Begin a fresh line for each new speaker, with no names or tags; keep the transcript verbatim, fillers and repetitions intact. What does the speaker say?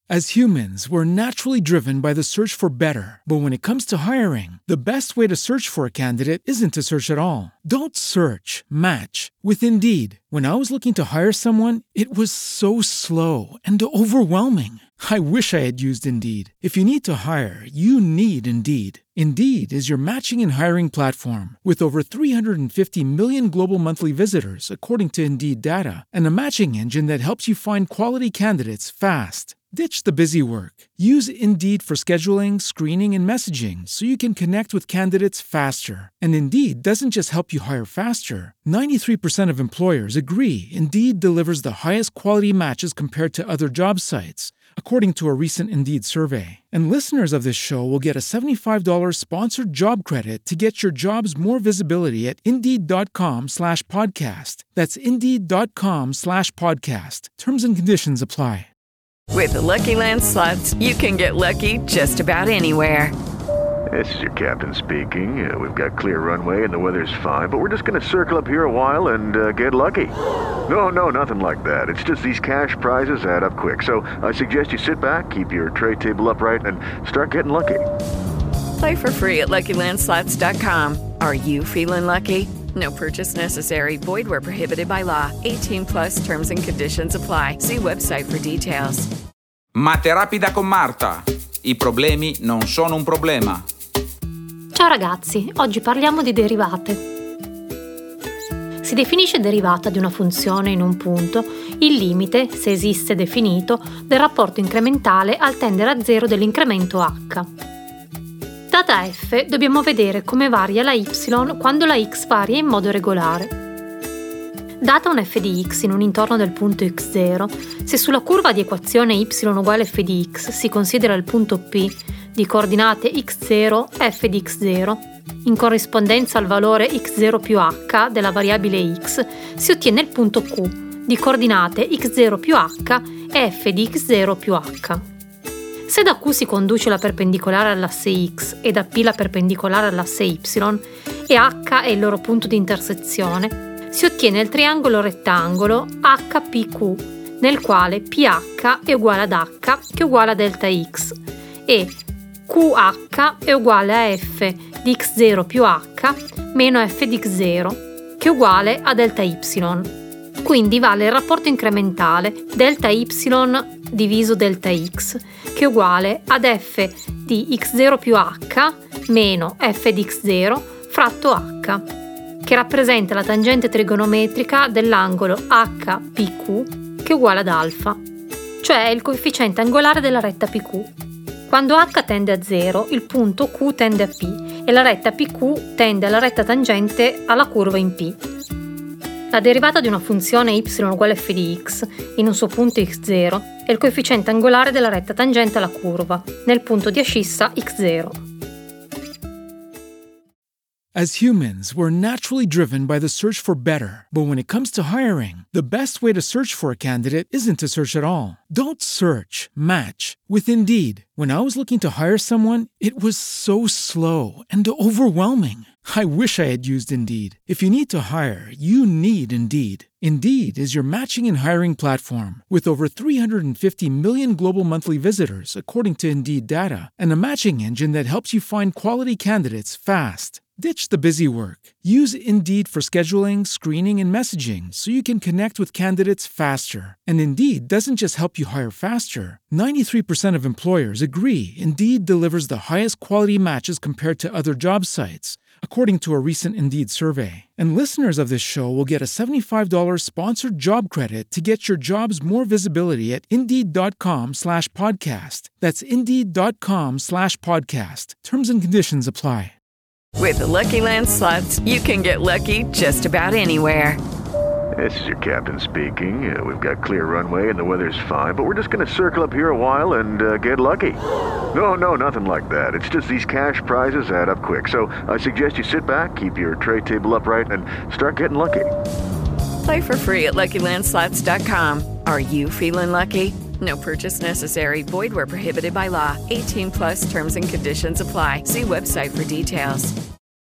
As humans, we're naturally driven by the search for better. But when it comes to hiring, the best way to search for a candidate isn't to search at all. Don't search, match with Indeed. When I was looking to hire someone, it was so slow and overwhelming. I wish I had used Indeed. If you need to hire, you need Indeed. Indeed is your matching and hiring platform with over three hundred fifty million global monthly visitors, according to Indeed data, and a matching engine that helps you find quality candidates fast. Ditch the busy work. Use Indeed for scheduling, screening, and messaging so you can connect with candidates faster. And Indeed doesn't just help you hire faster. ninety-three percent of employers agree Indeed delivers the highest quality matches compared to other job sites, according to a recent Indeed survey. And listeners of this show will get a seventy-five dollars sponsored job credit to get your jobs more visibility at Indeed.com slash podcast. That's Indeed.com slash podcast. Terms and conditions apply.
With the Lucky Land Slots, you can get lucky just about anywhere.
This is your captain speaking. Uh, we've got clear runway and the weather's fine, but we're just going to circle up here a while and uh, get lucky. No, no, nothing like that. It's just these cash prizes add up quick. So I suggest you sit back, keep your tray table upright, and start getting lucky.
Play for free at Lucky Land Slots dot com. Are you feeling lucky? No purchase necessary. Void where prohibited by law. eighteen plus terms and conditions apply. See website for details.
Mate rapida con Marta. I problemi non sono un problema.
Ciao ragazzi, oggi parliamo di derivate. Si definisce derivata di una funzione in un punto il limite, se esiste definito, del rapporto incrementale al tendere a zero dell'incremento h. Data f, dobbiamo vedere come varia la y quando la x varia in modo regolare. Data un f di x in un intorno del punto x zero, se sulla curva di equazione y uguale f di x si considera il punto P di coordinate x zero, f di x zero, in corrispondenza al valore x zero più h della variabile x, si ottiene il punto Q di coordinate x zero più h e f di x zero più h. Se da Q si conduce la perpendicolare all'asse x e da P la perpendicolare all'asse y e h è il loro punto di intersezione, si ottiene il triangolo rettangolo H P Q, nel quale P H è uguale ad h che è uguale a delta x e Q H è uguale a f di x zero più h meno f di x zero che è uguale a delta y. Quindi vale il rapporto incrementale delta y diviso delta x che è uguale ad f di x zero più h meno f di x zero fratto h, che rappresenta la tangente trigonometrica dell'angolo H P Q che è uguale ad alfa, cioè il coefficiente angolare della retta P Q. Quando h tende a zero, il punto Q tende a P e la retta P Q tende alla retta tangente alla curva in P. La derivata di una funzione y uguale f di x in un suo punto x zero è il coefficiente angolare della retta tangente alla curva, nel punto di ascissa x zero.
As humans, we're naturally driven by the search for better. But when it comes to hiring, the best way to search for a candidate isn't to search at all. Don't search, match with Indeed. When I was looking to hire someone, it was so slow and overwhelming. I wish I had used Indeed. If you need to hire, you need Indeed. Indeed is your matching and hiring platform with over three hundred fifty million global monthly visitors, according to Indeed data, and a matching engine that helps you find quality candidates fast. Ditch the busy work. Use Indeed for scheduling, screening, and messaging so you can connect with candidates faster. And Indeed doesn't just help you hire faster. ninety-three percent of employers agree Indeed delivers the highest quality matches compared to other job sites, according to a recent Indeed survey. And listeners of this show will get a seventy-five dollars sponsored job credit to get your jobs more visibility at Indeed.com slash podcast. That's Indeed.com slash podcast. Terms and conditions apply.
With the Lucky Land Slots, you can get lucky just about anywhere.
This is your captain speaking. Uh, we've got clear runway and the weather's fine, but we're just going to circle up here a while and uh, get lucky. No, no, nothing like that. It's just these cash prizes add up quick. So I suggest you sit back, keep your tray table upright, and start getting lucky.
Play for free at Lucky Land Slots dot com. Are you feeling lucky? No purchase necessary. Void where prohibited by law. eighteen plus terms and conditions apply. See website for details.